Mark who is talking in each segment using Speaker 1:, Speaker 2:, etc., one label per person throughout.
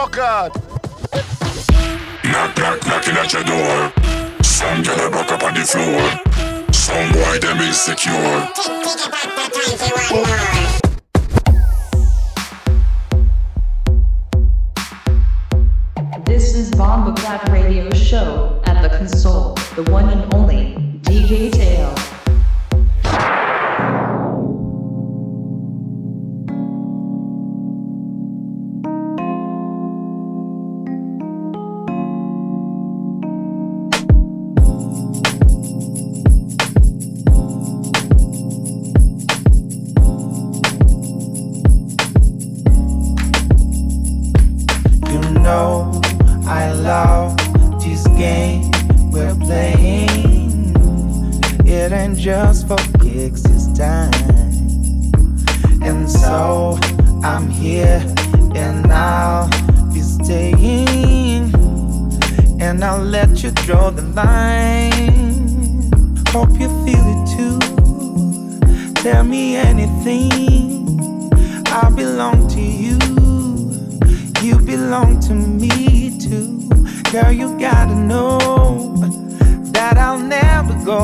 Speaker 1: God.
Speaker 2: Knock, knock, knocking at your door. Some girl a buck up on the floor. Some boy them insecure.
Speaker 3: This is Bomba Clap Radio Show at the console, the one and only DJ Tail.
Speaker 4: I love this game we're playing. It ain't just for kicks this time. And so I'm here and I'll be staying. And I'll let you draw the line. Hope you feel it too. Tell me anything. I belong to you. You belong to me too. Girl, you gotta know that I'll never go.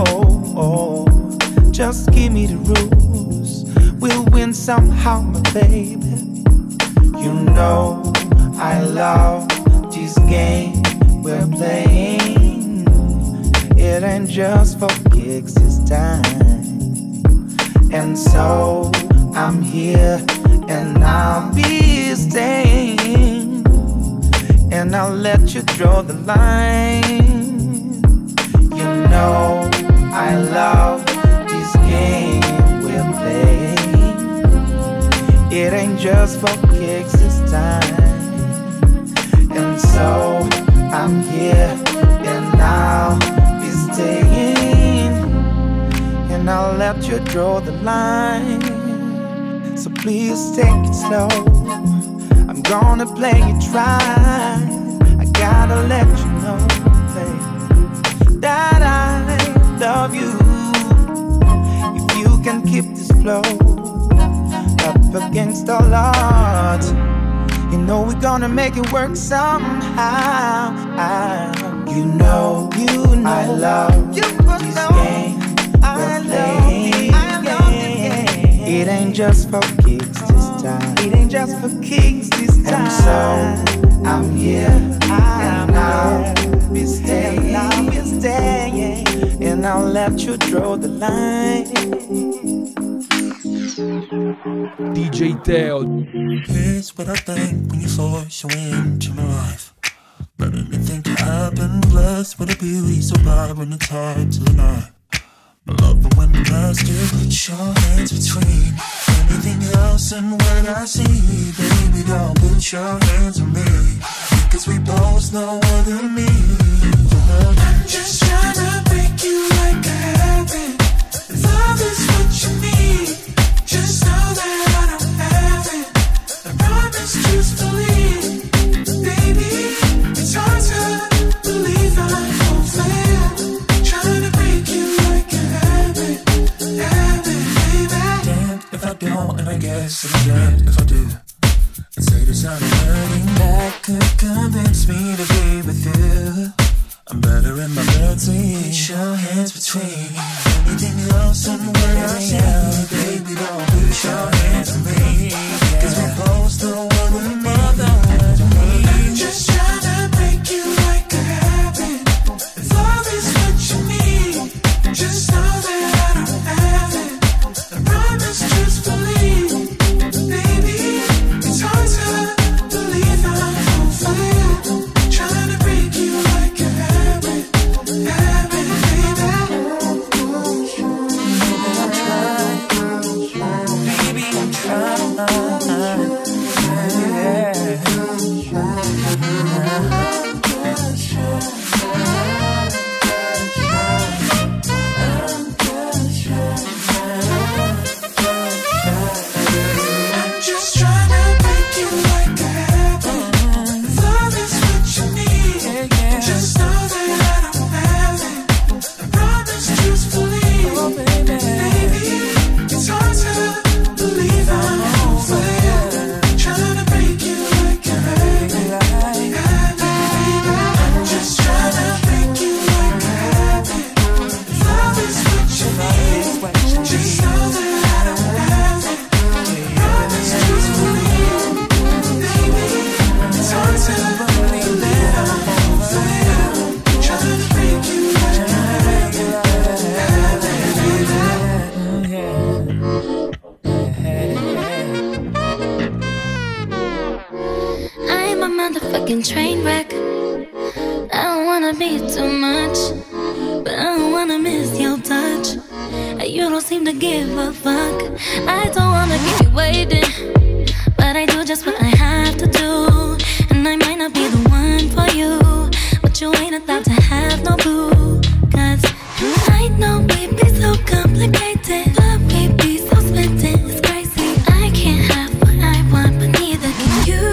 Speaker 4: Just give me the rules. We'll win somehow, my baby. You know I love this game we're playing. It ain't just for kicks this time. And so I'm here and I'll be staying. And I'll let you draw the line. You know I love this game we're playing. It ain't just for kicks this time. And so I'm here and I'll be staying. And I'll let you draw the line. So please take it slow. I'm gonna play it right. I gotta let you know, babe, that I love you. If you can keep this flow up against all odds, you know we're gonna make it work somehow. You know I love this game we're playing. It ain't just for kicks this time. It ain't just for kicks this time. And so I'm here and I'll be staying. And I'll let you draw the line.
Speaker 5: DJ Teo.
Speaker 6: Here's what I think when you force your way into my life. But anything can happen. Blessed with a beauty so bright when it's hard to deny. I love it when the master puts your hands between anything else and what I see. Baby, don't put your hands on me, because we both know what it means. I'm just trying to break you like a habit. If love is what you need, just know that I don't have it. I promise truthfully, baby, it's hard to believe I won't fail. Trying to break you like a habit, baby. Damn if I don't, and I guess I'm dead if I do. And say this I'm hurting, that could convince me to be with you. I'm better in my bed, put your hands between anything else and what I see. Baby, don't put your hands on me, cause we both know what we mother to me. I'm just trying to break you like a habit. If love is what you need, just know that I don't have it. I promise truthfully, baby, it's hard to believe I won't fail. Trying to break you like a habit, baby. Know that I'm trying.
Speaker 1: fucking train wreck. I don't wanna be too much, but I don't wanna miss your touch. You don't seem to give a fuck. I don't wanna keep you waiting, but I do just what I have to do. And I might not be the one for you, but you ain't allowed to have no boo. Cause I know we be so complicated, but we be so smitten, it's crazy. I can't have what I want, but neither can you.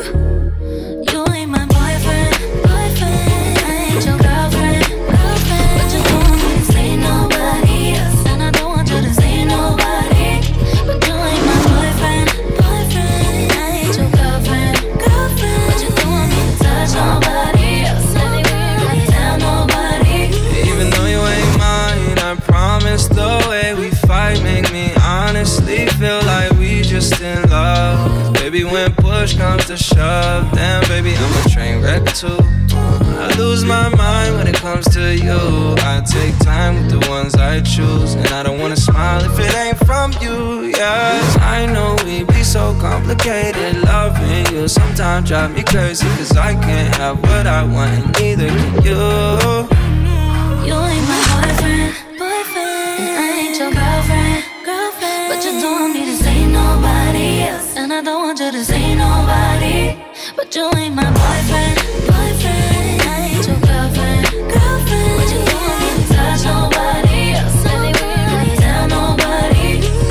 Speaker 1: You ain't my boyfriend, boyfriend. I ain't your girlfriend, girlfriend. But you don't want me to say nobody else, and I don't want you to say nobody. But you ain't my boyfriend, boyfriend. I ain't your girlfriend, girlfriend. But you don't want me to touch nobody else, anywhere, anytime, nobody.
Speaker 7: Even though you ain't mine, I promise the way we fight make me honestly feel like we just in love. 'Cause baby, when push comes to shove, damn baby, I'm a train wreck too. I lose my mind when it comes to you. I take time with the ones I choose, and I don't wanna smile if it ain't from you. Yes, I know we be so complicated. Loving you sometimes drive me crazy, 'cause I can't have what I want, and neither can you.
Speaker 1: You ain't my boyfriend, boyfriend. And I ain't your girlfriend, girlfriend. But you don't want me to say nobody else, and I don't want you to say nobody. But you ain't my boyfriend, boyfriend. I ain't your girlfriend, girlfriend. But you don't want me to touch nobody else, anywhere, anytime, nobody.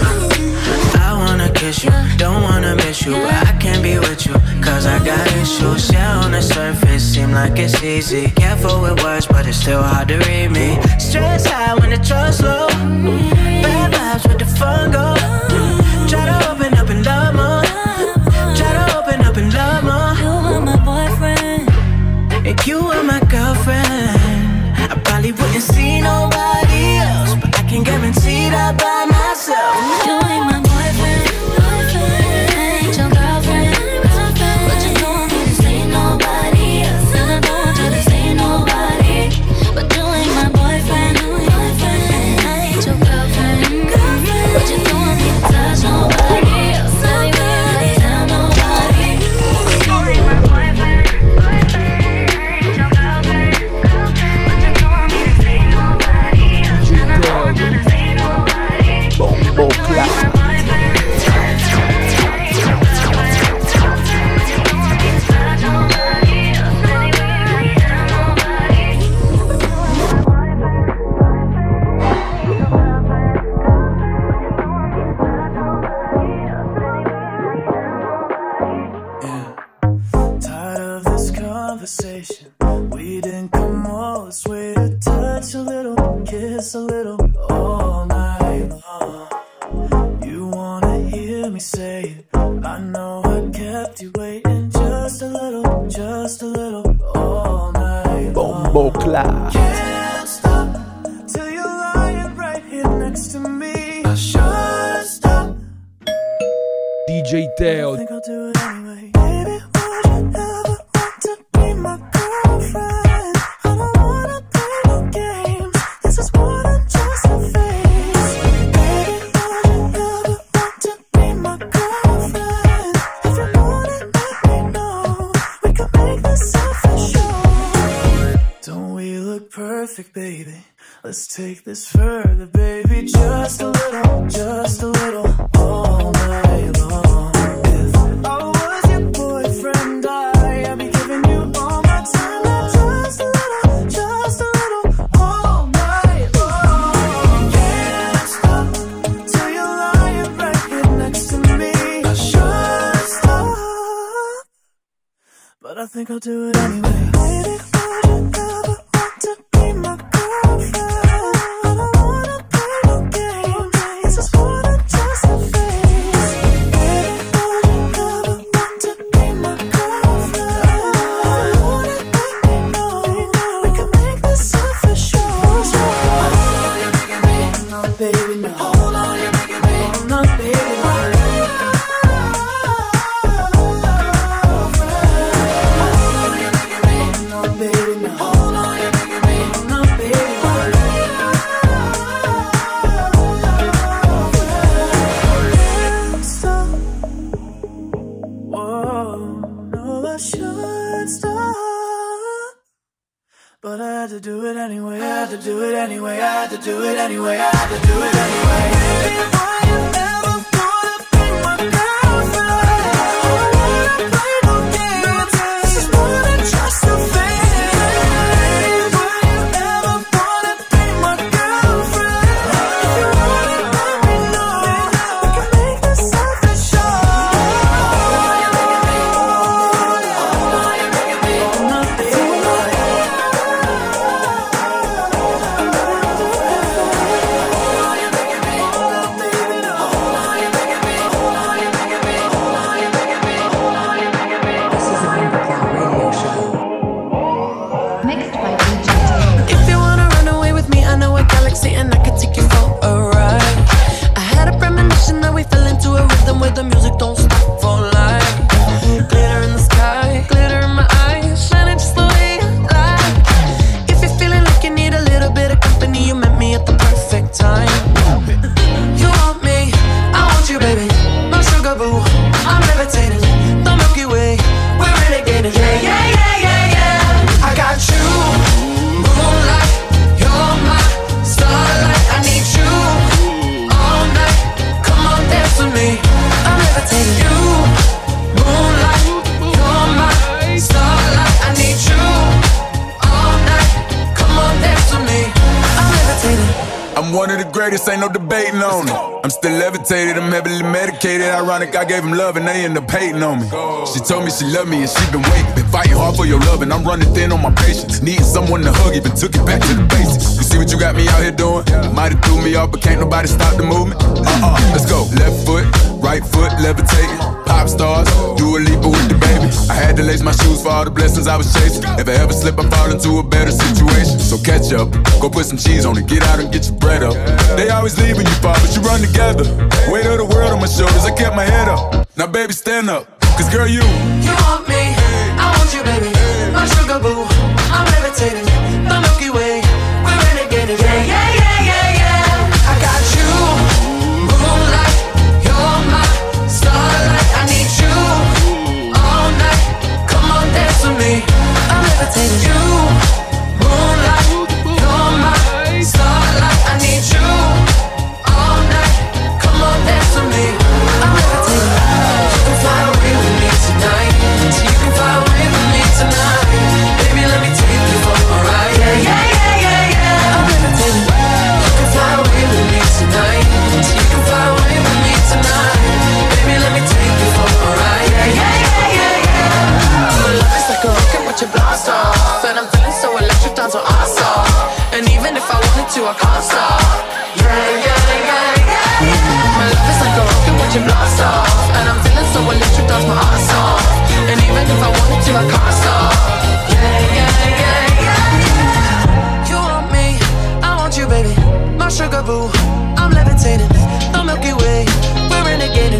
Speaker 8: I wanna kiss you, don't wanna miss you, but I can't be with you, 'cause I got issues. Yeah, on the surface, seem like it's easy. Careful with words, but it's still hard to read me. Stress high when the trust low. Bad vibes with the fun go. Try to open up and love more. Try to open up and love more.
Speaker 1: You are my boyfriend,
Speaker 8: And you are my girlfriend. I probably wouldn't see nobody else, but I can guarantee that by myself.
Speaker 1: you ain't my boyfriend, boyfriend. I ain't your girlfriend, girlfriend. But you don't want me to say nobody else, and I don't want you to say nobody. But you ain't my boyfriend, boyfriend. I ain't your girlfriend, girlfriend. But you don't want me to touch nobody else, anywhere, anytime, nobody. You ain't my boyfriend, boyfriend. I ain't your girlfriend, girlfriend. But you don't want me to say nobody else, and I don't want you to say nobody.
Speaker 5: Bombo Clap.
Speaker 6: Tired of this conversation. We didn't come all this way to touch a little, kiss a little, all night long. You wanna hear me say it? I know I kept you waiting just a little, all night long.
Speaker 5: Bombo Clap.
Speaker 6: Can't stop till you're lying right here next to me. I should stop.
Speaker 5: DJ Teo.
Speaker 6: I think I'll do it anyway. Baby, would you ever want to be my girlfriend? I don't wanna play no games. This is more than just a phase. Baby, would you ever want to be my girlfriend? If you want it, let me know. We can make this official. Don't we look perfect, baby? Let's take this further, baby. Just a little, all night long. If I was your boyfriend, I'd be giving you all my time. Now just a little, all night long. Can't stop till you're lying right here next to me. I should stop, but I think I'll do it anyway. Baby, would you ever want to be my girlfriend? I don't wanna play no games. This is more than just a phase. Baby, would you ever want to be my girlfriend? I want it, let me know. We can make this official. Hold on, you're making me. No, baby, no. Hold on, you're making me. No, baby, no. Hold on, you're making me. No, baby.
Speaker 8: do it anyway, I had to do it anyway, I had to do it anyway, I had to do it anyway. Why you never wanna be my girlfriend? I wanna play no games, this is more than just a phase. Why you never wanna be my girlfriend? If you want it, let me know, we can make this something sure.
Speaker 3: Mixed by DJ Teo.
Speaker 8: If you wanna run away with me, I know a galaxy and I can take you for a ride. I had a premonition that we fell into a rhythm where the music don't stop for life. Glitter in the sky, glitter in my eyes, shining just the way I like. If you're feeling like you need a little bit of company, you met me at the perfect time. You want me, I want you, baby. My sugar boo, I'm levitating. The Milky Way, we're renegading. Yeah, yeah, yeah, yeah, yeah. I got you, moonlight, you're my starlight. I need you all night. Come on, dance with me. I'm levitating. You, moonlight, you're my starlight. I need you all night. Come on, dance with me. I'm levitating.
Speaker 2: I'm one of the greatest, ain't no debating on it. I'm still levitated, I'm heavily medicated. Ironic, I gave him love and they end up hating on me. She told me she loved me and she been waiting. Been fighting hard for your love and I'm running thin on my patience. Needing someone to hug, even took it back to the basics. You see what you got me out here doing? Might have threw me off, but can't nobody stop the movement. Let's go. Left foot, right foot, levitating. Pop stars, do a leap with the baby. I had to lace my shoes for all the blessings I was chasing. If I ever slip, I fall into a better situation. So catch up, go put some cheese on it, get out and get your bread up. They always leave when you fall, but you run together. Weight of the world on my shoulders, I kept my head up. Now baby, stand up, cause girl, you
Speaker 8: want me, I want you, baby. My sugar boo, I'm levitating. The Milky Way, we're renegading. Yeah, yeah, yeah, yeah, yeah. I got you, moonlight, you're my starlight. I need you all night. Come on, dance with me. I'm levitating. You, moonlight, you're my starlight. I need you all night. Come on, dance with me. I'm levitating. You can fly away with me tonight. So you can fly away with me tonight. Baby, let me take you for a ride. Yeah, yeah, yeah, yeah, yeah. I'm levitating. You can fly away with me tonight. So you can fly away with me tonight. Baby, let me take you for a ride. Yeah, yeah, yeah, yeah, yeah. My love is like a rocket with your blast off, and I'm feeling so electric, down to awesome. And even if I wanted to, I can't stop. Yeah, yeah, yeah, yeah. My love is like a rocket with your blast off, and I'm feeling so electric, that's my ass off. And even if I wanted to, I can't stop. Yeah, yeah, yeah, yeah. You want me, I want you, baby. My sugar boo, I'm levitating. The Milky Way, we're renegading.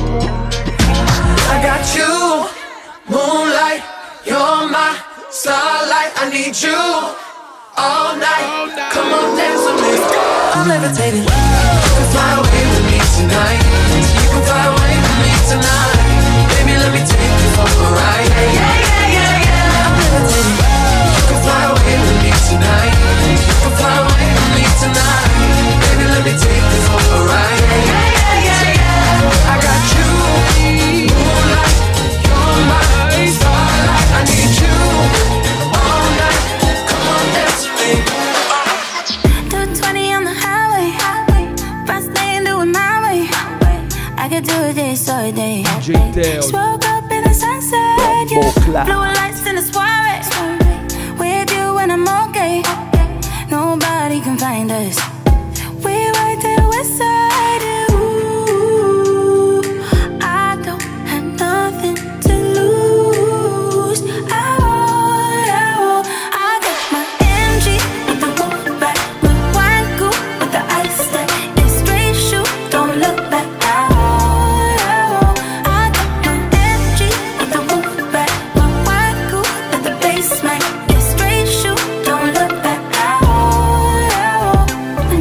Speaker 8: I got you, moonlight, you're my starlight. I need you all night. Come on, dance with me. I'm levitating. You can fly away with me tonight. You can fly away with me tonight. Baby, let me take you for a ride. Yeah, yeah, yeah, yeah, yeah. I'm levitating. You can fly away with me tonight. You can fly away with me tonight. Baby, let me take you for a ride. Yeah, yeah, yeah, yeah, yeah. I got you, moonlight, you're my starlight. I need you all night. Come on, dance with me.
Speaker 1: 220 on the highway, fast lane, do it my way. I could do this all day.
Speaker 5: DJ Teo.
Speaker 1: Just woke up in the sunset, yeah.
Speaker 5: Clap.
Speaker 1: Blue lights in the soiree. With you when I'm okay. Nobody can find us. We right there west side. Ooh, I don't have nothing to lose. I got my MG with the wolf back, my wine coupe with the ice stack, and straight shoot, don't look back. I got my MG with the wolf back, my wine coupe with the bass smack, and straight shoot, don't look back.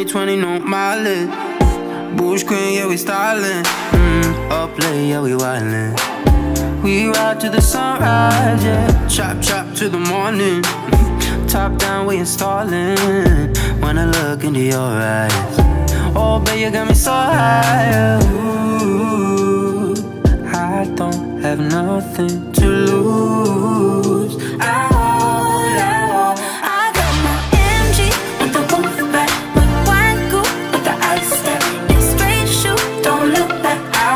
Speaker 8: 2020, no mileage. Bush Queen, yeah, we stylin'. Up late, yeah, we wildin'. We ride to the sunrise, yeah. Chop, chop to the morning. Top down, we installin'. When I look into your eyes, oh, babe, you got me so high. Ooh, I don't have nothing to lose. I got my MG with the roof back, with wine coupe with the ice stack. It's straight shoot, don't look back. I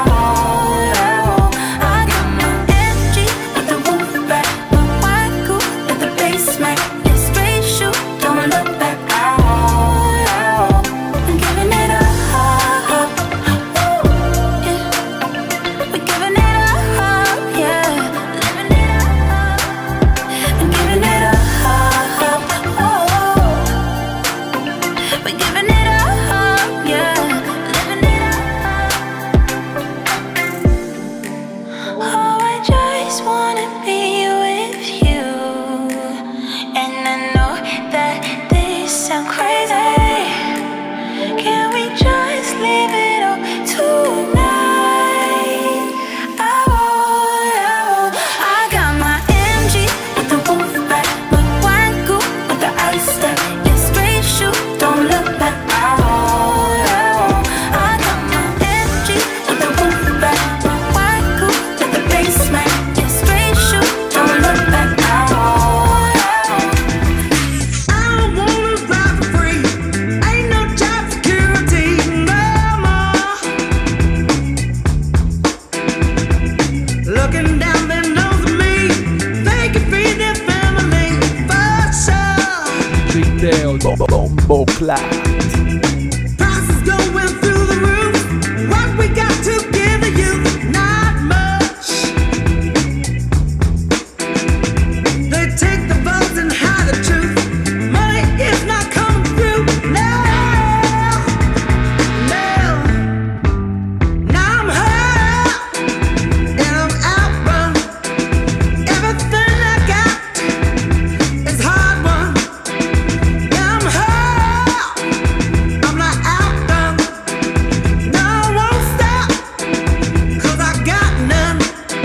Speaker 8: got my MG with the roof back, with wine coupe with the bass smack. It's straight shoot, don't look back. I'm giving it up. We're giving it up, yeah. Living it up. I'm giving it up. We're giving it up, yeah. Living it up. Oh, I just wanna be with you. And I know that this sounds crazy. Can we just leave it all tonight? I got my MG with the roof back, with wine coupe with the ice stack. It's straight shoot, don't look back. I got my MG with the roof back, with wine coupe with the bass smack. It's straight shoot, don't look back. I don't wanna ride for free. Ain't no job security no more. Looking down their nose at me, they can feed their family for sure.
Speaker 5: DJ Teo, Bombo Clat.
Speaker 8: Prices going through the roof. What we got to give the youth? Not much. They take the votes and hide the truth. Money is not coming through. No, no. Now I'm hurt and I'm outrun. Everything I got is hard won. Now I'm hurt, I'm not outdone. No, I won't stop, 'cause I got none.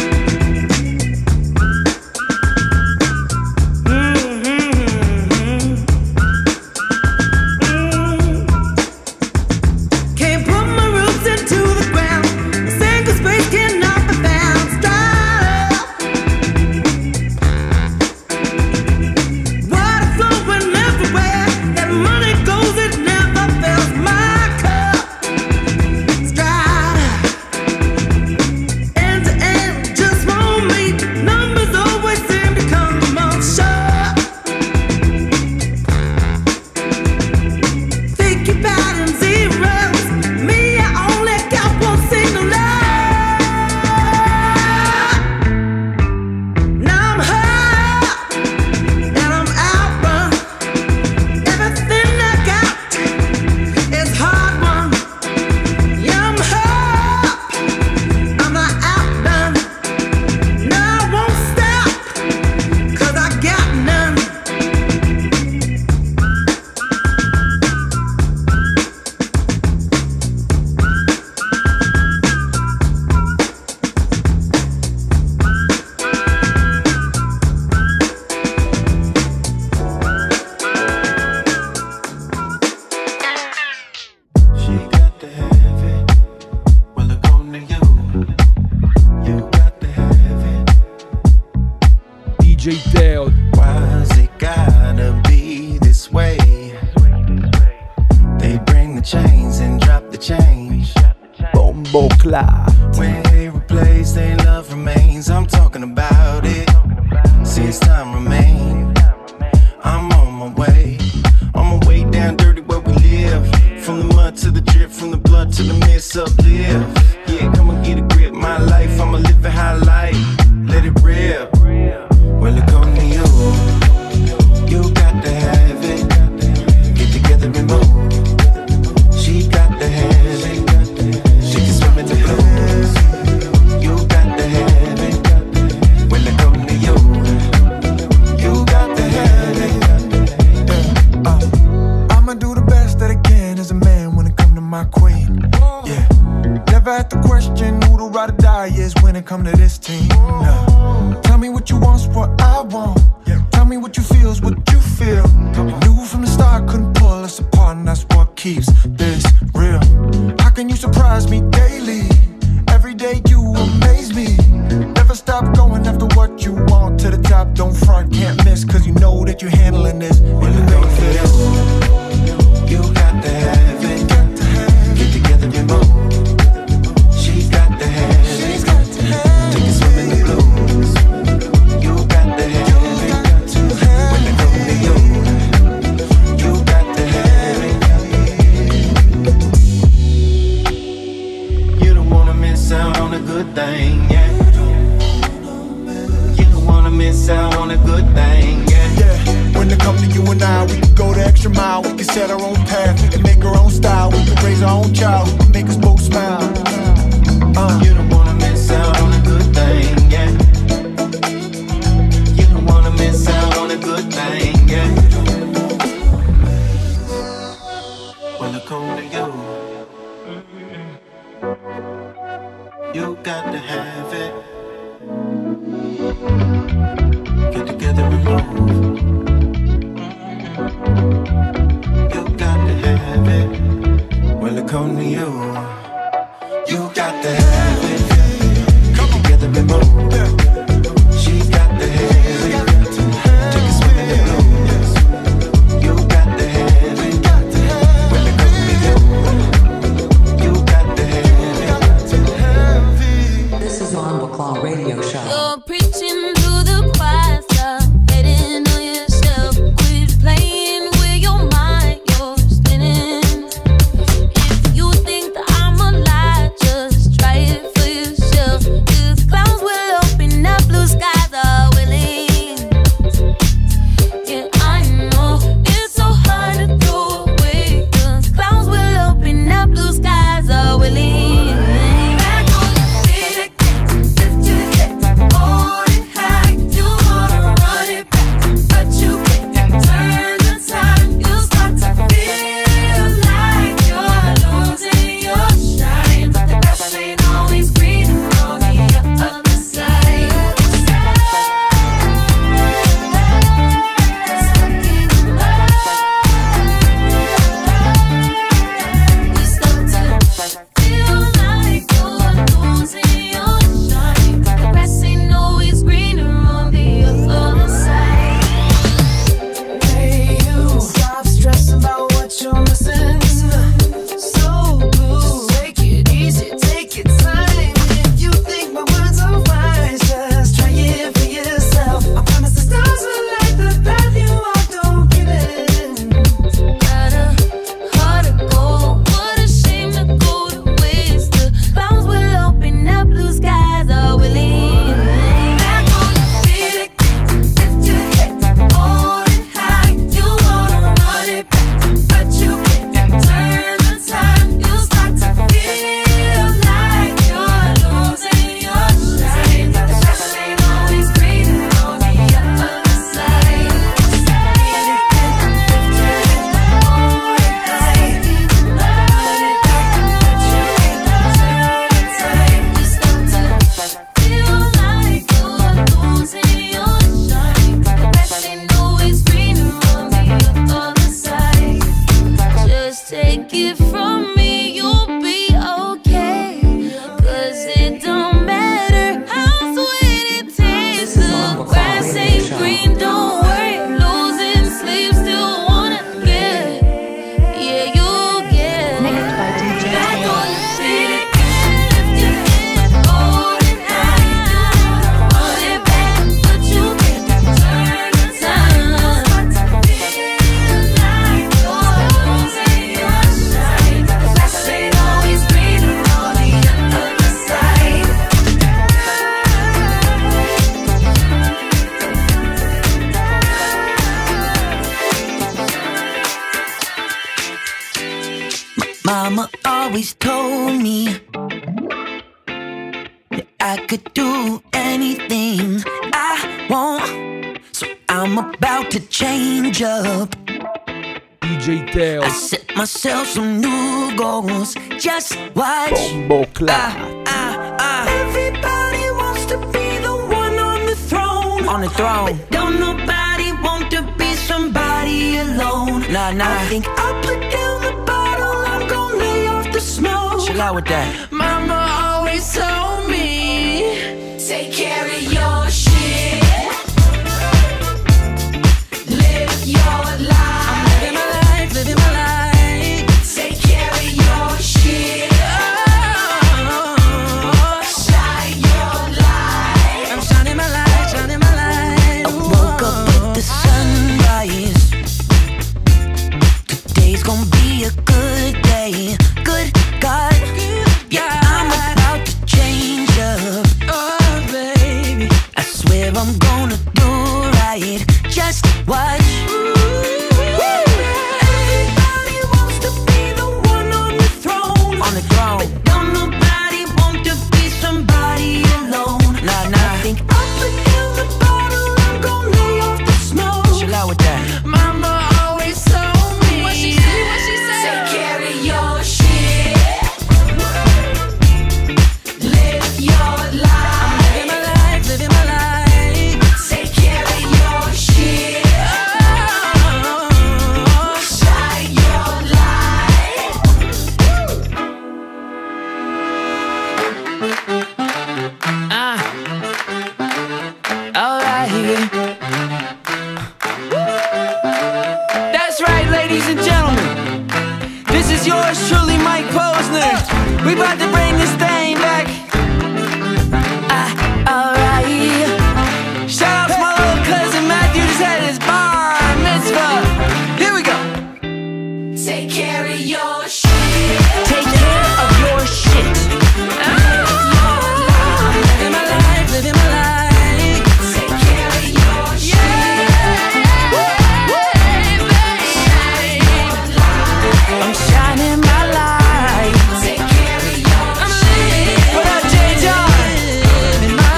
Speaker 8: Can't put my roots into the ground. A single space cannot be found. Stop. Water flowing everywhere. That money goes, it never fills my cup. Stride. End to end, just won't meet. Numbers always seem to come up short. Think about in zeros. Me, I only got one single love. Now I'm hurt and I'm outrun. Everything I got is hard won. Yeah, I'm hurt, I'm not outdone. No, I won't stop, 'cause I got none.
Speaker 6: She got to have it. Well, look on to you. You got to have it.
Speaker 5: DJ Teo,
Speaker 6: Why's it gotta be this way? They bring the chains and drop the change.
Speaker 5: Bombo Clat.
Speaker 6: When they replace, their love remains. I'm talking about it. Since time remain, I'm on my way. On my way down dirty where we live. From the mud to the drip, from the blood to the mist, uplift. Yeah, come and get a grip. My life, I'ma live a high life. Let it rip. Well, look on to you. You got to have it. Get together and move. She got to have it. She can swim in the blues. You got to have it. Well, look on to you. You got to have it. I'ma do the best that I can as a
Speaker 4: my queen. Yeah, never had to question who the ride or die is when it come to this team. Nah. Tell me what you want's what I want. Tell me what you feel's what you feel. You knew from the start couldn't pull us apart, and that's what keeps this real. How can you surprise me daily? Every day you amaze me. Never stop going after what you want. To the top, don't front, can't miss, cause you know that you're handling this. And you ain't for this. You got to have it. Get together and move. She's got to have it. Take a swim in the blues. You got to have it. When it comes to you, you got to have it. You don't wanna miss out on a good thing, yeah. You don't wanna miss out on a good thing, yeah. Yeah, when it comes to you and I, we can go the extra mile. We can set our own path, we can make our own style. We can raise our own child, we can make us both smile. You don't wanna miss out on a good thing, yeah. You don't wanna miss out on a good thing, yeah. When it comes to you, you got to have it. Get together and move. You got to have it. When it comes to you, you got to have it. Get together and move. She's got to have it. Take a swim in the blues. You got to have it. When it comes to you, you got to have it.
Speaker 3: This is on Baclaw Radio Show.
Speaker 1: You're preaching to the choir, stop hating on yourself. Quit playing with your mind, you're spinning. If you think that I'm a lie, just try it for yourself. 'Cause clouds will open up, blue skies are willing. Yeah, I know it's so hard to throw away. 'Cause clouds will open up, blue skies are willing. Back on your feet again, lift your head, hold it high. You wanna run it back, but you can't turn the time. You start to feel like you're losing your shine. The grass ain't always greener on the other side. You start to feel like you're losing your shine. The grass ain't always greener on the other side.
Speaker 8: Hey, you stop stressing about what you're missing. So blue, take it easy, take your time. If you think my words are wise, just try it for yourself. I promise the stars will light the path you walk, don't give in.
Speaker 1: Got a heart of gold, what a shame to go to waste. The clouds will open up, blue skies are willing. Back on your feet again, lift your head, hold it high. You wanna run it back, but you can't turn the time. You start to feel like you're losing your shine. The grass ain't always greener on the other side. Just take it from me, you'll be okay. 'Cause it don't matter how sweet it tastes. The grass ain't green, don't worry. Losing sleep, still wanna get. Yeah, you'll get.
Speaker 3: Mixed by DJ
Speaker 1: Back
Speaker 3: Taylor.
Speaker 1: on your feet again, lift your head, hold it high. Run it back, but you can't turn the time. Feel like you're losing your shine. The grass ain't always greener on the other side.
Speaker 8: Mama always told me that I could do anything I want. So I'm about to change up.
Speaker 5: DJ Teo.
Speaker 8: I set myself some new goals. Just watch.
Speaker 5: Bombo Clat.
Speaker 8: Everybody wants to be the one on the throne. On the throne. But don't nobody want to be somebody alone. Nah. I think I'll put down the bottle. I'm gonna lay off the smoke. Chill out with that. Mama always told me, take care of your shit. Live your life. I'm living my life. Take care of your shit. Shine your light. I'm shining my light. I woke up with the sunrise. Today's gonna be a good day. Good God. Yeah, I'm about to change up. Oh, baby, I swear I'm gonna do right. Just watch. Everybody wants to be the one on the throne. On the throne. But don't nobody want to be somebody alone. Nah. I think I'll put down the bottle. I'm gonna lay off the smoke. Chill out with that. Mama always told me. What she said? Take care of your shit. Live your life. I'm living my life. Take care of your shit. Shine your light. Alright. That's right, ladies and gentlemen. This is yours truly, Mike Posner. We about to bring this thing back. Alright. Shout out to my little cousin Matthew, just had his bar mitzvah. Here we go. Take care of your shit. Take care of your shit. Living my life. Take care of your shit. I'm shining my light. Take care of your shit. What up, J. John? Living my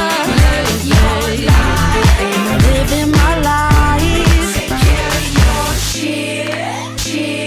Speaker 8: life. Take care of your shit.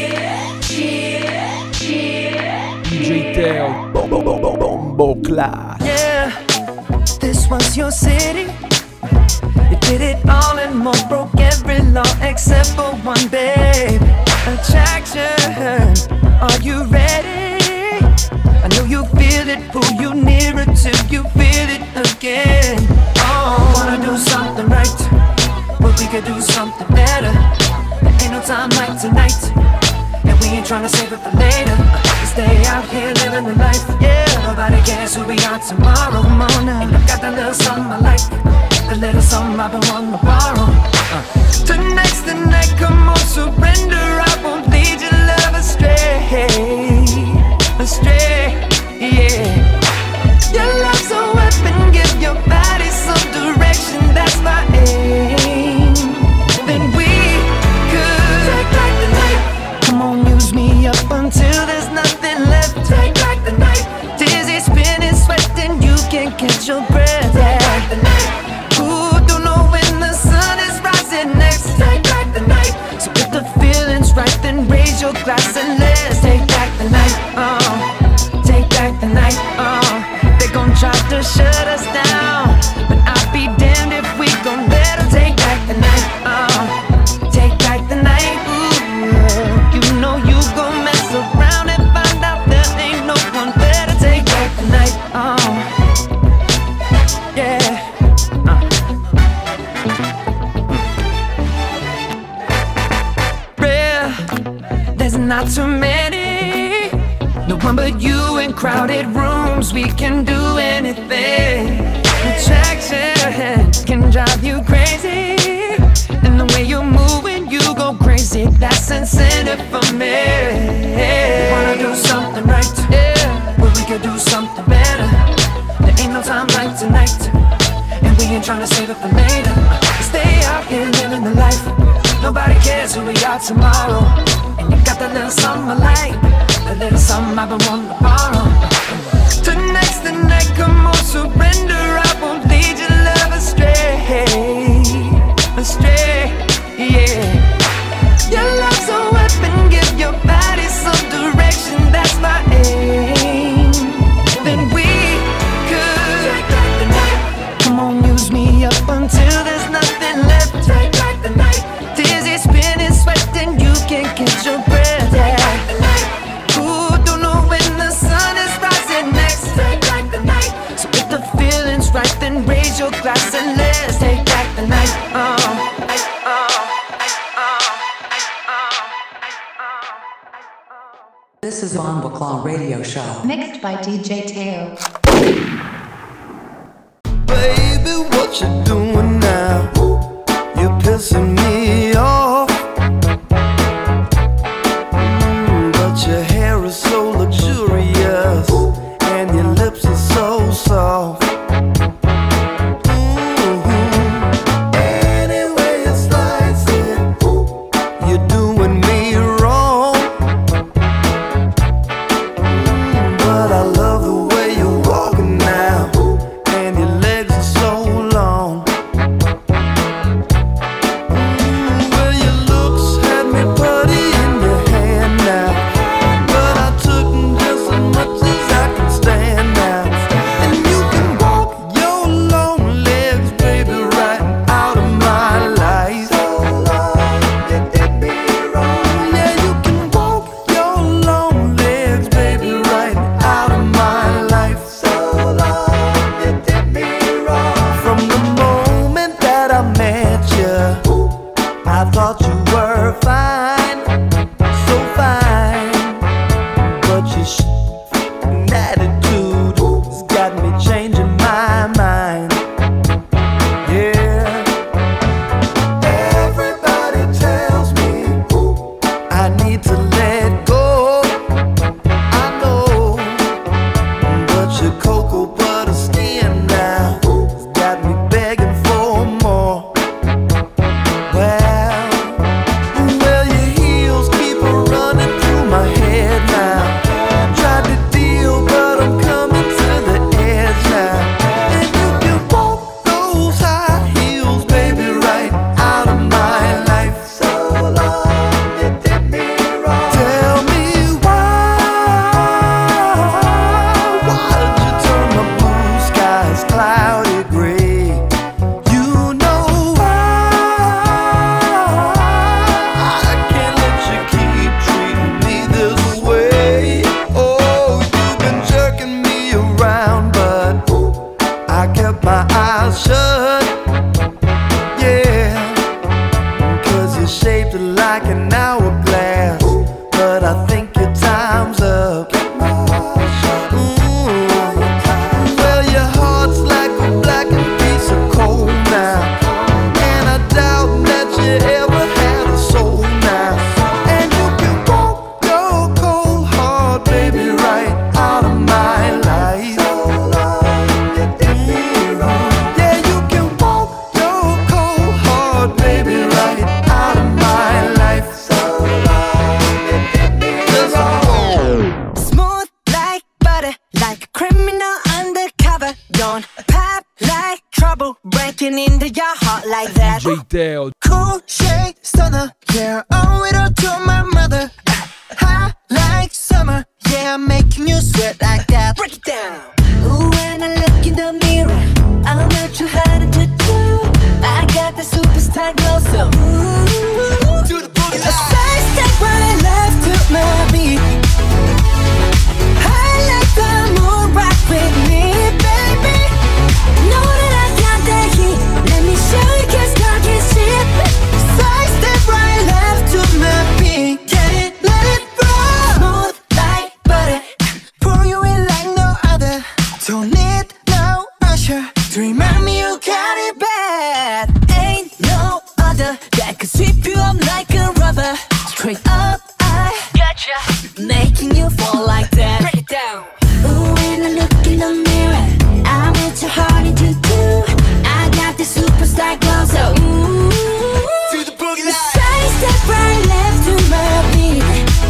Speaker 5: DJ Teo. Bombo Clat.
Speaker 9: Yeah, this was your city. You did it all and more, broke every law except for one, babe. Attraction, are you ready? I know you feel it, pull you nearer till you feel it again. Oh, wanna do something right, but we could do something better. There ain't no time like tonight, and we ain't tryna save it for later. Stay out here living the life, yeah. Nobody cares who we are tomorrow. Come on now. And I got that little something I like, the little something I've been wanting to borrow. Tonight's the night, come on, surrender. I won't lead your love astray, yeah. Your love's a weapon, give your body some direction. That's my aim. Then we could take back the night. Come on, use me up until there's nothing left. Take back the night. Dizzy, spinning, sweating, you can't catch your breath. Take back the night. Ooh, don't know when the sun is rising next. Take back the night. So if the feeling's right, then raise your glass and let's take back the night. Take back the night. They gon' try to shut us down, but I'll be damned if we gon' let them take back the night. Take back the night. Ooh, you know you gon' mess around and find out there ain't no one better. Take back the night. Yeah. Real, there's not too many. No one but you in crowded rooms. We can do anything. Attraction can drive you crazy, and the way you're moving, you go crazy. That's incentive for me. We wanna do something right, yeah, but we could do something better. There ain't no time like tonight, and we ain't tryna save it for later. Stay out here living the life. Nobody cares who we are tomorrow. And you got that little something I like, a little something I've been wanting to borrow. Tonight's the night, come on, surrender. I won't lead your love astray, yeah. Your love's a weapon,
Speaker 3: This is Bomba Claw Radio Show.
Speaker 10: Mixed by DJ Teo.
Speaker 11: Baby, what you doing now? You're pissing me off. But your hair is so luxurious, and your lips are so soft. Anyway you slice it, you're doing me wrong. But I love the way you're walking now, and your legs are so long. Well, your looks had me putty in your hand now, but I took just as much as I can stand now. And you can walk your long legs, baby, right out of my life. So long, you did me wrong. Yeah, you can walk your long legs, baby, right out of my life. So long, you did me wrong. From the moment that I met you, I thought you were fine, so fine. But your an attitude has got me changing my mind. Yeah. Everybody tells me I need to let go. I know, but your cocoa butter skin now has got me begging for more. Well, your heels keep running through my head now. Tried to deal, but I'm coming to the edge now. And you can walk those high heels, baby, right out of my life. So long, you did me wrong. Tell me why did you turn my blue skies cloudy gray? You know I can't let you keep treating me this way. Oh, you've been jerking me around, but I kept my eyes shut. Yeah, 'cause you're shaped like an hourglass, but I think your time's up. Well, your heart's like a blackened piece of coal now, and I doubt that you ever had a soul now. And you can walk your cold heart, baby, right out of my life. Yeah, you can walk your cold heart, baby, right out of my life.
Speaker 12: Smooth like butter, like a criminal undercover. Don't pop like trouble, breaking into your heart like that.
Speaker 5: DJ Teo.
Speaker 12: Cool shade stunner, yeah, owe it all to my mother. Hot like summer, yeah, I'm making you sweat like that. Break it down. Ooh, when I look in the mirror, I'm not too hard to do. I got the superstar glow, so ooh, do the boogie line. A side step right left to my beat. I like the moon rock with me, baby. Know that I got that heat. Let me show you, 'cause talking shit. Side step right left to my beat. Get it, let it roll. Smooth like butter, pour you in like no other. Don't need no pressure to remind me you got it bad. Ain't no other that could sweep you up like a rubber. Straight up, I gotcha, making you fall like that. Break it down. Ooh, when I look in the mirror, I'm with your heart into two. I got the superstar glow, so ooh, do the boogie line. Side step right left to my beat.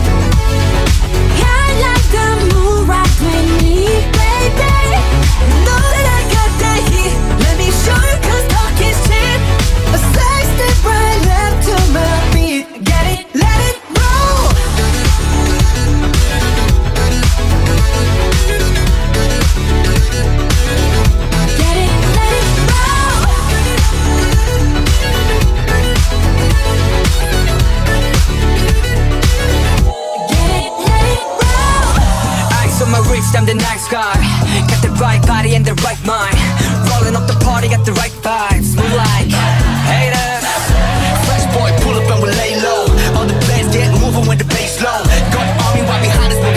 Speaker 12: I like the moon rock with me, baby. Know that I got that heat. Let me show you, 'cause talk is cheap. A side step right left to my beat. Get it, let it roll. Get it, let it roll. Get it, let it roll.
Speaker 13: Ice on my wrist, I'm the nice guy. Got the right body and the right mind. Rolling up the party, got the right vibes. Move like haters. Fresh boy, pull up and we lay low. All the players get moving when the bass low. Got army right behind us,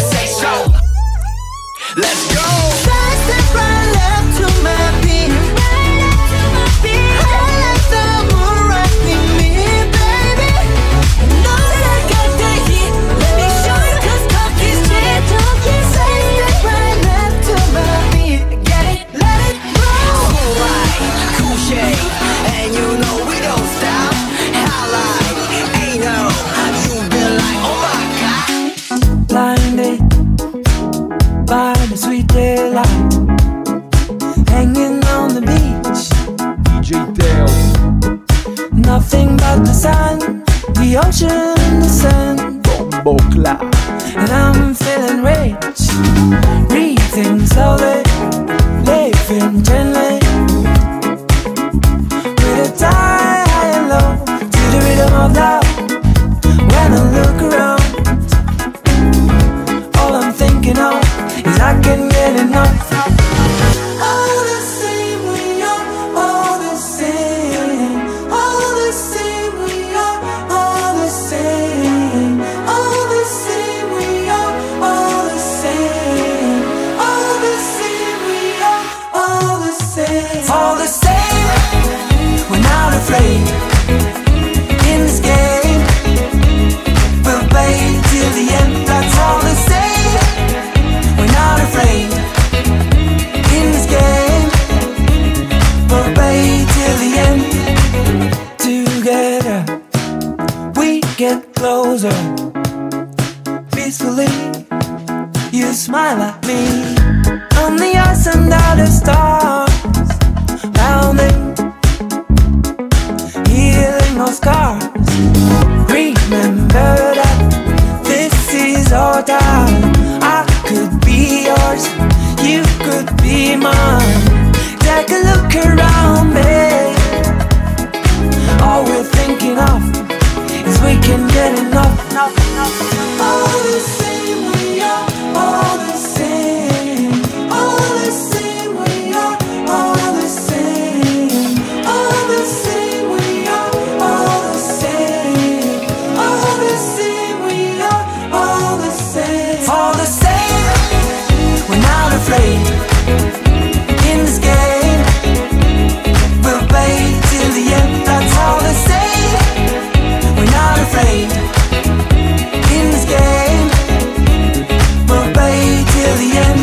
Speaker 8: Let's go.
Speaker 9: Side step right left to my beat. I let the moon rock with me, baby. Know that I got the heat. Let me show you 'cause talk is cheap. Side step right left to my beat. Get it, let it roll.
Speaker 8: Cool light, cool shade, and you know we don't stop. Highlight, ain't no, you been like, oh my God.
Speaker 4: Blinded by the sweet daylight, hanging on the beach.
Speaker 5: DJ Teo.
Speaker 4: Nothing but the sun, the ocean, the sun.
Speaker 5: Bombo Clat.
Speaker 4: And I'm feeling rich, breathing slowly, living gently. With a tie high and low, to the rhythm of love. When I look around, all I'm thinking of is I can get enough. All the same we are, all the same. All the same we are, all the same. All the same we are, all the same. All the same we are, all the same. All the same, we're not afraid. In this game, we'll play till the end. That's all the same. We're not afraid. In this game, we'll play till the end. Together, we get closer. Peacefully, you smile at me. On the ice under the stars, pounding, healing our scars. Remember that this is our time. I could be yours, you could be mine. Take a look around me. All we're thinking of is we can get enough. All the same we are, all the same. All the same we are, all the same. All the same we are, all the same. All the same we are, all the same. All the same, we're not afraid. In this game, we'll play till the end. That's all the same. We're not afraid. In this game, we'll play till the end.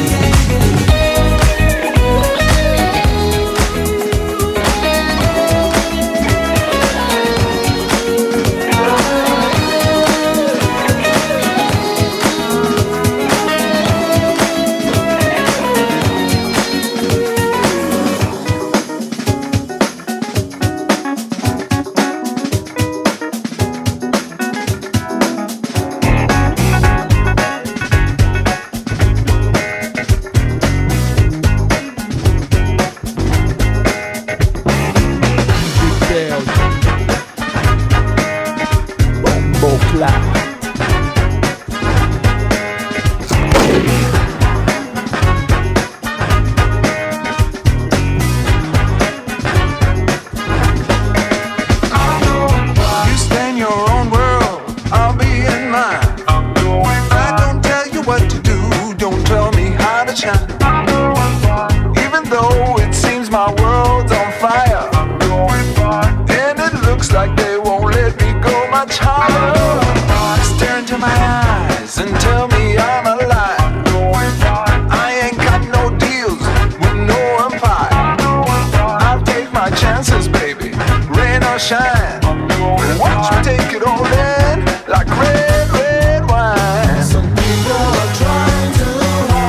Speaker 5: Teo. Bombo Clat.
Speaker 11: You stay in your own world, I'll be in mine. I don't tell you what to do, don't tell me how to shine. Even though it seems my world's on fire, and it looks like they won't let me go much higher. Stare into my eyes and tell me I'm alive. I ain't got no deals with no empire. I'll take my chances, baby, rain or shine. Watch me take it all in like red, red wine. Some people are trying too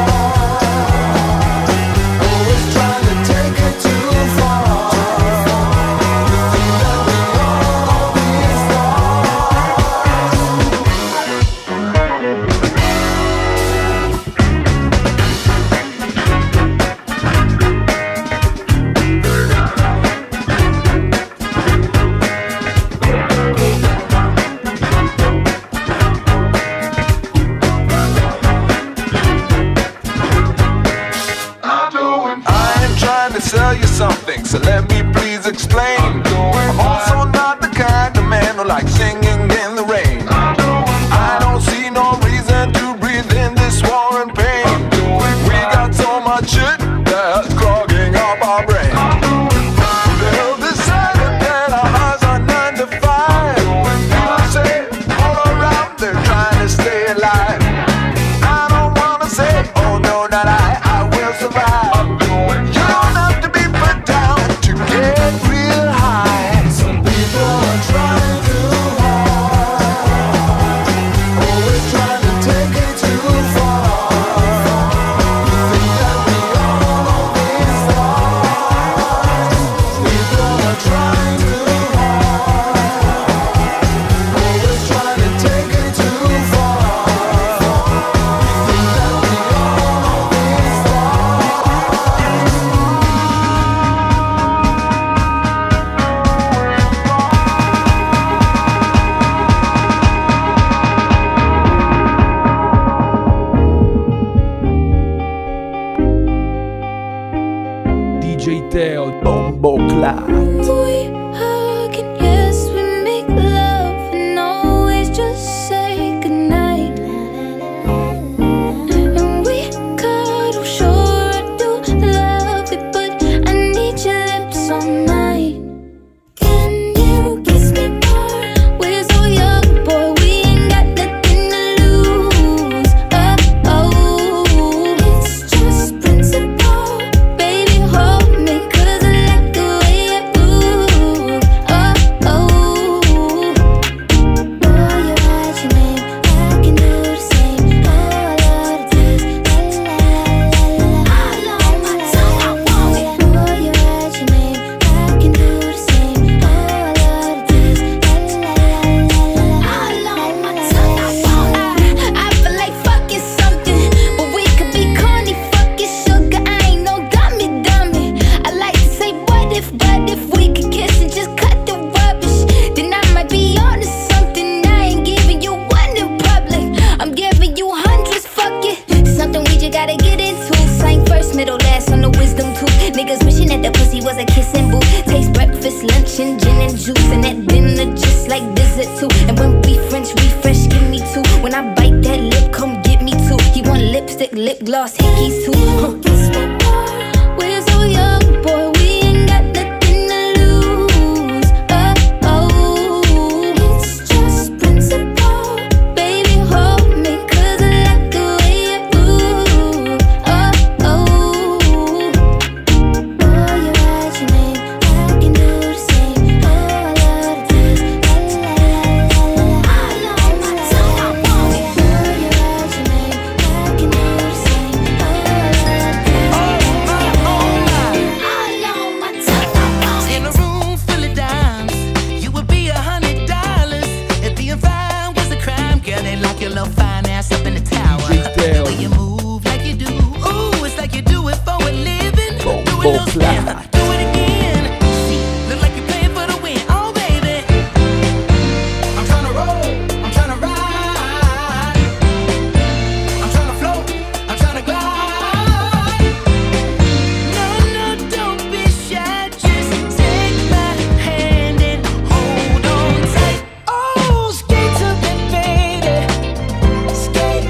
Speaker 11: hard, always trying to take it too far. Think that we'll all be sell you something, so let me please explain. I'm also not the kind of man who likes singing in the rain. I don't see no reason to breathe in this war and pain. We got
Speaker 5: Teo, Bombo Clat.
Speaker 1: We hug and yes, we make love and always just say goodnight. And we cuddle, sure I do love it, but I need your lips all night. Can you kiss me more? We're so young, boy, we ain't got nothing to lose. Oh, it's just principle. Baby, hold me, 'cause I like the way you move. Oh, boy, you write your name, I can do the same. Oh, I love the taste. La la la la la. All on my tongue, I want it. Boy, you write your name, I can do the same. Oh, I love the taste. La la la la la. All on my tongue, I want it. I feel like fucking something, but we could be corny, fucking sugar. I ain't no dummy. I like to say what if we could kiss and just cut the rubbish, then I might be onto something. I ain't giving you one in public, I'm giving you hundreds. Fuck it, something we just gotta get into. Sang first, middle, last on the wisdom tooth. Niggas wishing that the pussy was a kissing booth. Taste breakfast, lunch, and gin and juice, and that dinner just like dessert too. And when we French refresh, give me two. When I bite that lip, come get me two. He want lipstick, lip gloss, hickeys too. Kiss me more. We're so young, boy, we ain't got nothing to lose. Oh, it's just principle. Baby, hold me, 'cause I like the way you move. Oh, boy, you write your name, I can do the same. Oh, I love the taste. La la la la la. All on my tongue, I want it. Boy, you write your name, I can do the same. Oh, I love the taste. All on my tongue, I want it.
Speaker 11: In a room full of dimes, you would be $100 if being fine was a crime. Girl, they lock your little fine ass up in the tower. The way you move like you do, ooh, it's like you do it for a living. Do it, little Stammer, do it again. See, look like you're playing for the win. Oh, baby, I'm tryna roll, I'm tryna ride, I'm tryna float, I'm tryna glide. No, don't be shy, just take my hand and hold on tight. Oh, skate to me, baby, skate,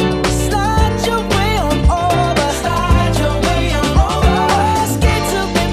Speaker 11: slide your way on over, skate to me,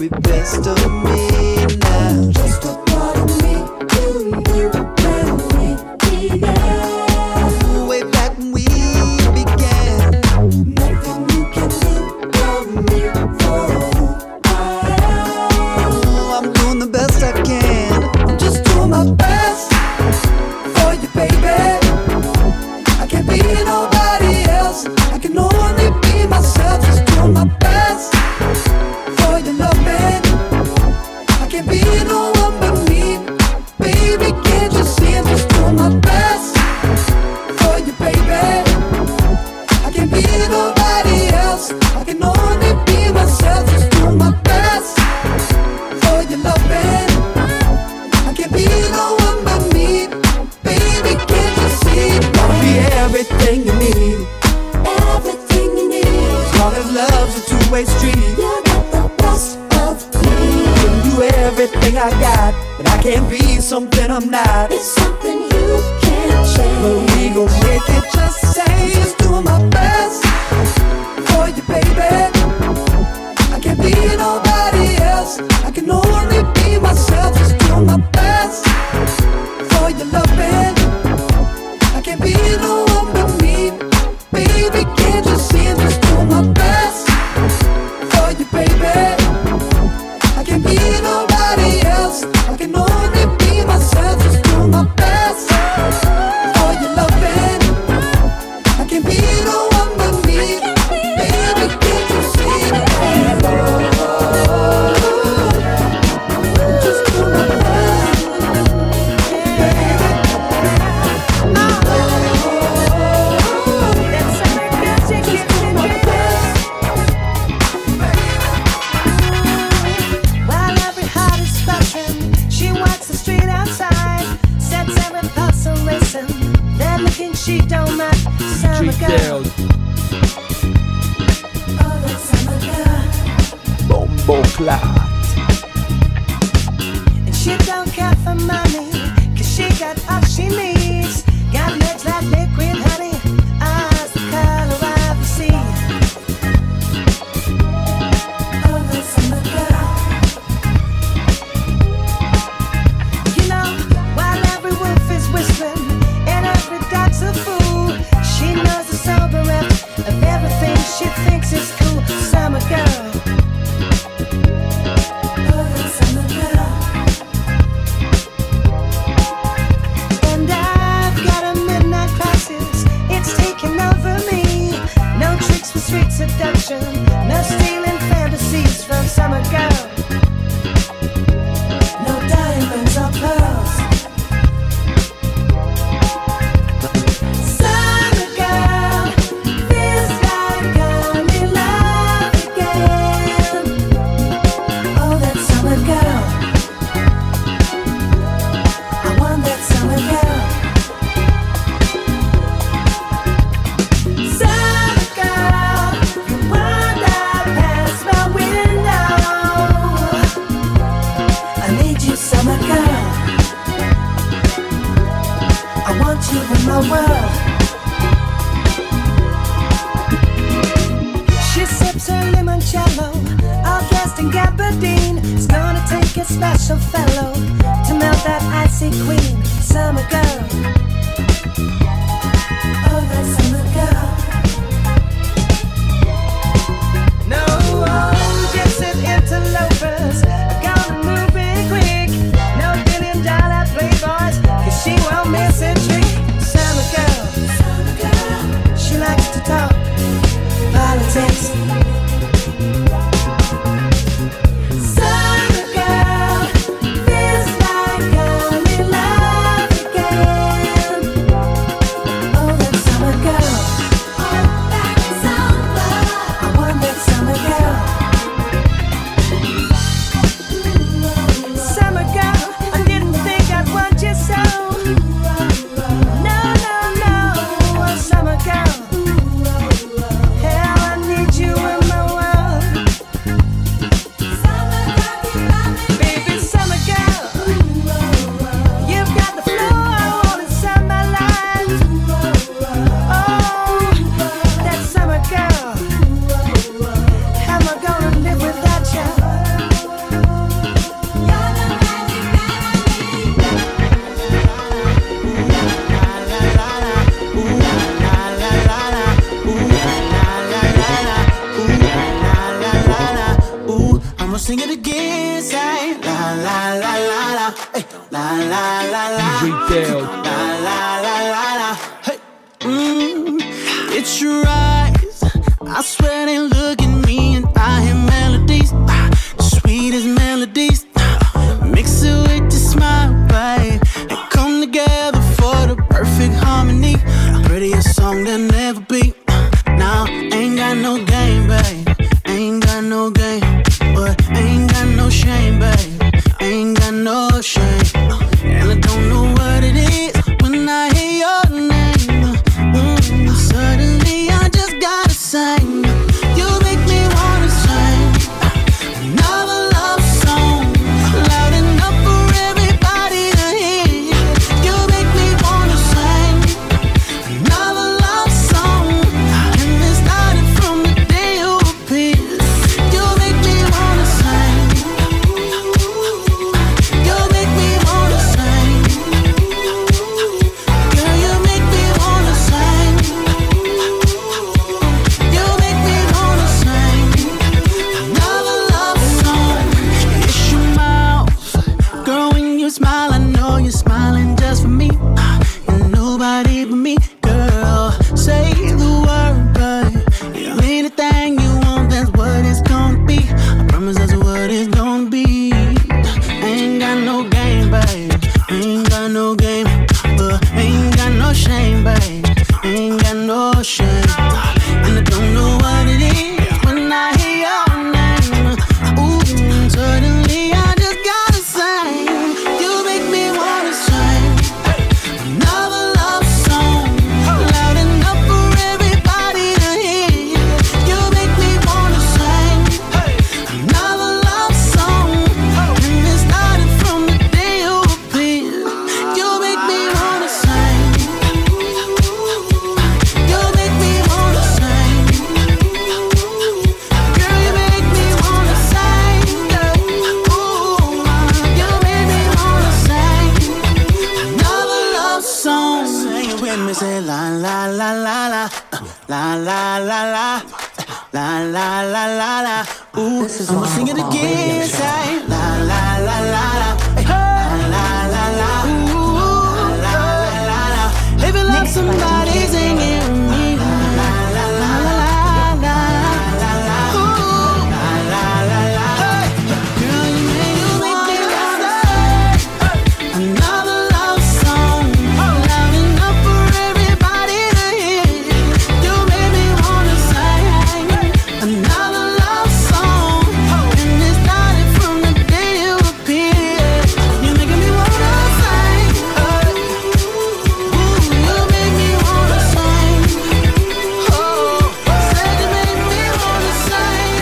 Speaker 11: very best of me now. Just a part of me, you and me began. Way back when we began. Nothing you can do for me, for who I am. I'm doing the best I can. I'm just doing my best for you, baby. I can't be nobody else. I can only be myself. Just doing my best for your loving. I can't be no one but me. Baby, can't you see I'm just doing my best for you, baby. I can't be nobody else. I can only be myself. Just doing my best for your loving. I can't be no one but me. Baby, can't you see? Wanna be everything you need. Everything you need. As long as love's a two-way street. You got the best of me. Can do everything I got, but I can't be something I'm not. It's something you can't change. But we gon' make it just the same. Just doing my best for you, baby. I can't be nobody else. I can only be myself. Just doing my best for your loving. I can't be no one but me. Baby, can't you see I'm just doing my best for you, baby. I can't be nobody else. I can only be myself. Just doing my best for your loving. I can't be no one but me. Baby, can't you see? Just doing my best, baby.
Speaker 14: While every heart is fluttering, she walks the street outside, sets every pulse racing. That looking she don't mind. Summer girl. Oh, that summer girl.
Speaker 5: Bombo Clat.
Speaker 14: And she don't care for money, 'cause she got all she needs. Got legs like liquid honey, eyes the color of the sea. Oh, that summer girl. You know, while every wolf is whistling and every dog's a fool, she knows the sober of everything she thinks is cool. Summer girl. Oh, that summer girl. And I've got a midnight crisis, it's taking over me. No tricks for street seduction, no stealing fantasies from summer girl. No diamonds or pearls. Summer girl feels like I'm in love again. Oh, that summer girl. I want that summer girl. Summer girl, you wander past my window. I need you, summer girl. I want you in my world. She sips her limoncello, all dressed in gabardine. It's gonna take a special fellow to melt that icy queen. Summer girl. Oh, that summer girl. No, gypsy interlopers are gonna move in quick. No $1 billion playboys, 'cause she won't miss a trick. Summer girl. She likes to talk politics. Summer girl feels like I'm in love again. Oh, that summer girl.
Speaker 11: again, say la la la la la, hey, la la la la,
Speaker 5: DJ Teo.
Speaker 11: la la la la la, hey. It's your eyes, I swear they look at me and I hear melodies, sweet as melodies. Mix it with your smile, babe, and come together for the perfect harmony. Prettiest song there'll never be. Now, ain't got no game, babe. Ain't got no game, but ain't got no shame, babe. Ain't got no shame. And I don't know what it is when I hear your name. Suddenly I just gotta sing. You make me wanna sing another love song, loud enough for everybody to hear. You make me wanna sing another love song, and it started from the day you appeared. You make me wanna sing. You make me wanna sing. Girl, you make me wanna sing. You make me wanna sing another love song. It's your mouth, girl, when you smile, I know you're smiling just for me, and nobody but me. Girl, say the word, babe. Anything you want, that's what it's gonna be. I promise that's what it's gonna be. Ain't got no game, babe. Ain't got no game, but ain't got no shame, babe. Ain't got no shame. And I don't know what it is when I hear your name. Ooh, suddenly I just gotta sing. You make me wanna sing another love song, loud enough for everybody to hear. You make me wanna sing another love song, and it started from the day you appeared. You make me wanna sing. You make me wanna sing. Girl, you make me wanna sing. Ooh, you make me wanna sing another love song. Sing it with me, say la la la la la, la la la la, la la la la la. Ooh, I'ma sing it again, say la la la la la, la la la la, ooh, la la la la. If you love somebody, sing it with me. La la la la la, la la, ooh, la la la la. Girl, you make me wanna sing another love song, loud enough for everybody to hear. You made me wanna sing another love song, and it started from the day you appeared. You're making me wanna sing. Ooh, you make me wanna sing. Oh, said you make me wanna sing.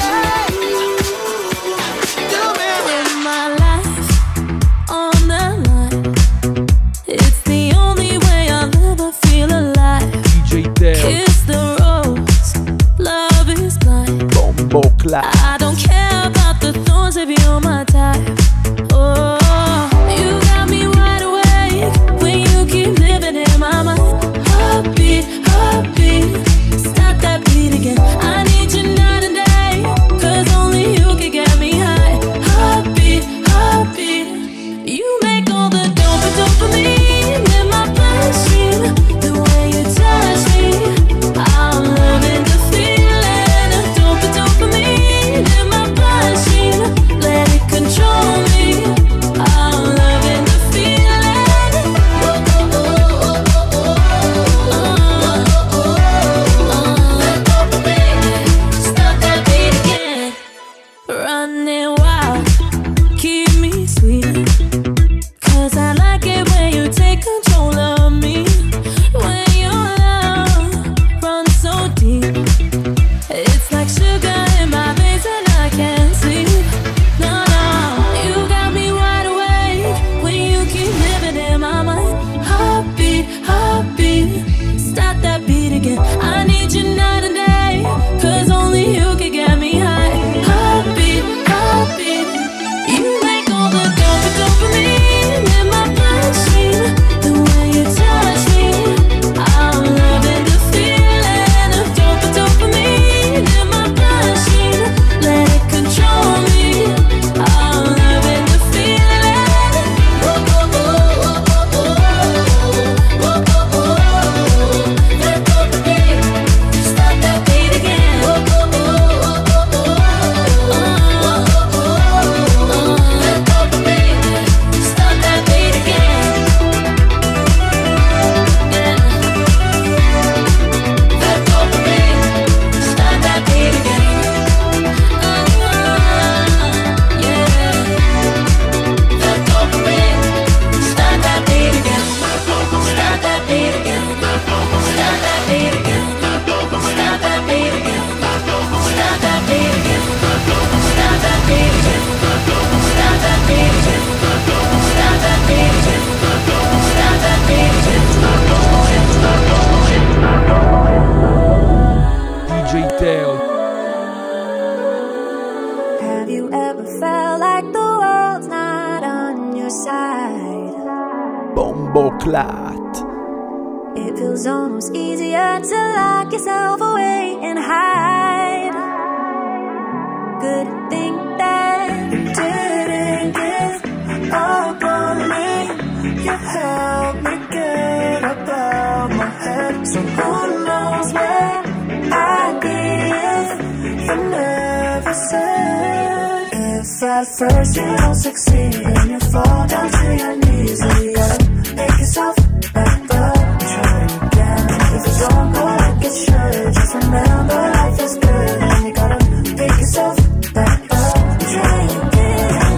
Speaker 11: You made me.
Speaker 1: Put my life on the line. It's the only way I'll ever feel alive.
Speaker 5: DJ Teo.
Speaker 1: Kiss the rose, love is blind.
Speaker 5: Bombo Clat.
Speaker 1: I don't care about the thorns if you're my type. Oh, you got me wide awake when you keep living in my mind. Heartbeat, heartbeat, stop that beat again. I need you night and day, 'cause only you can get me high. Heartbeat, heartbeat, you make all the dopamine in my bloodstream. The way you touch me, I'm loving the feeling of dopamine in my bloodstream. Let it control
Speaker 15: side.
Speaker 5: Bomboclat.
Speaker 15: It feels almost easier to lock yourself away and hide. Good thing that you didn't give up on me. You helped me get up out my head. So who knows where I'd be if you never said. If at first you don't succeed and you fall down to your knees, you gotta make yourself back up and try again. If you don't go like it should, just remember life is good and you gotta pick yourself back up and try again.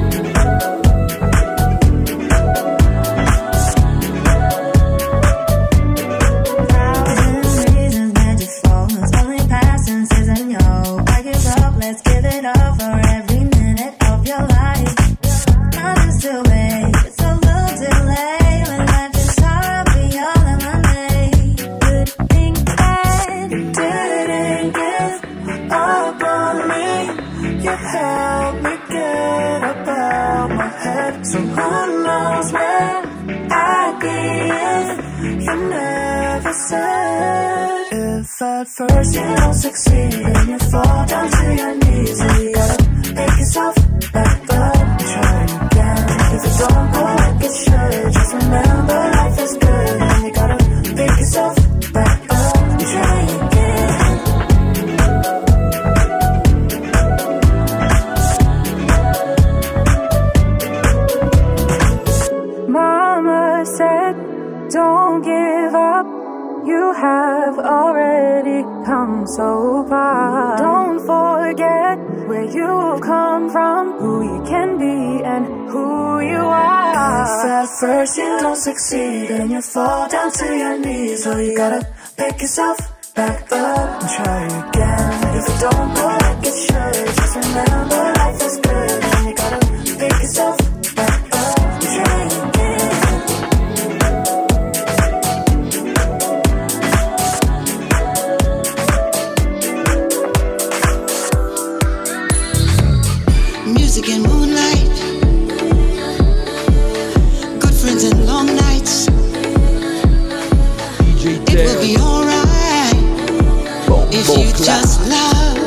Speaker 15: Thousand reasons that you fall, it's only past tenses and yo, I give up, let's give it up for every minute of your life. Nothing's too late, it's a little delay when life is hard beyond my name. Good thing that you didn't give up on me. You helped me get up out my head. So who knows where I'd be if you never said. If at first you don't succeed and you fall down to your knees, you gotta make yourself back up and try again. If you don't go like it should, just remember life is good and you gotta pick yourself back up and try again. Mama said, don't give up. You have already come so far. Don't forget where you've come from, who you can be and who you are. If at first you don't succeed and you fall down to your knees, so you gotta pick yourself back up and try again. If you don't go like it should, just remember life is good and you gotta pick yourself back up and try again.
Speaker 16: Music and moonlight, good friends and long nights. It will be alright if you just love.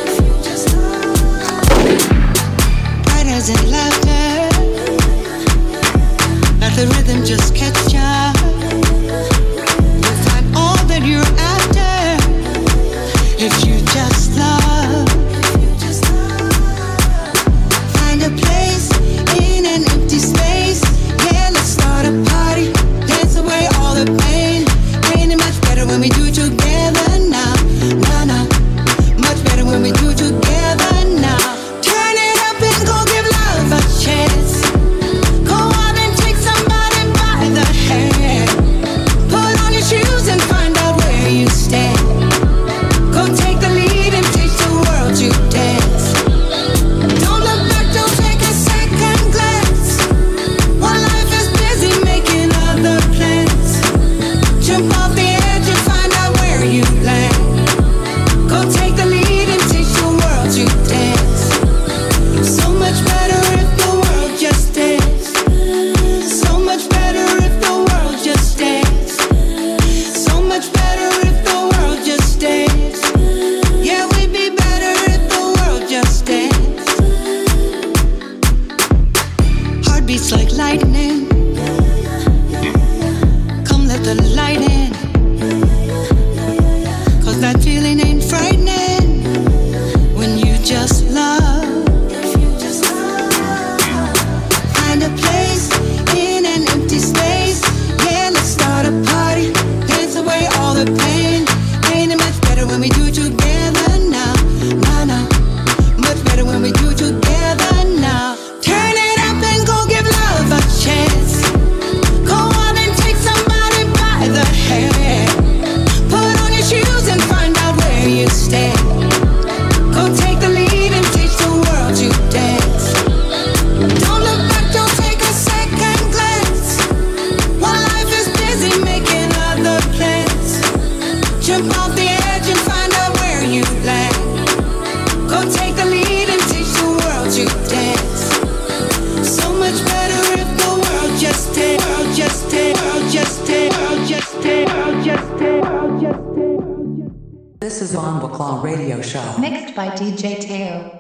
Speaker 16: Riders and laughter, let the rhythm just catch ya. You'll find all that you're after if you just love. Find a place in an empty space. Yeah, let's start a party. Dance away all the pain. Ain't it much better when we do it together now? Nah, nah. Much better when we do it together now. Turn it up and go give love a chance. Go out and take somebody by the hand. Put on your shoes and find out where you stand. Go take the lead and teach the world to dance. Don't look back, don't take a second glance. While life is busy making other plans, jump off the edge and find out where you land. Go take the lead and teach the world to dance. So much better if the world just dance. So much better if the world just dance. So much better if the world just dance. Yeah, we'd be better if the world just dance. Heartbeats like lightning. Come let the light in. 'Cause that feeling ain't frightening when you just love. Find a place in an empty space. Yeah, let's start a party. Dance away all the pain. Ain't it much better when we do it together now? Nah, nah. Much better when we do it together now. Turn it up and go give love a chance. Go out and take somebody by the hand.
Speaker 17: This is Von Baclaw Radio Show.
Speaker 3: Mixed by DJ Teo.